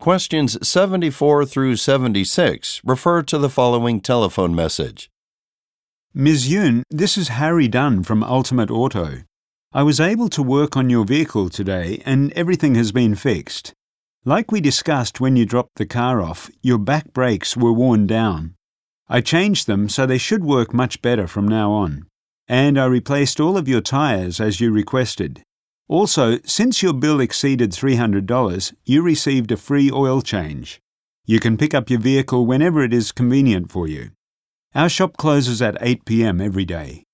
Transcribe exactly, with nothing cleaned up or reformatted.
Questions seventy-four through seventy-six refer to the following telephone message. Miz Yoon, this is Harry Dunn from Ultimate Auto. I was able to work on your vehicle today and everything has been fixed. Like we discussed when you dropped the car off, your back brakes were worn down. I changed them so they should work much better from now on. And I replaced all of your tyres as you requested. Also, since your bill exceeded three hundred dollars, you received a free oil change. You can pick up your vehicle whenever it is convenient for you. Our shop closes at eight p m every day.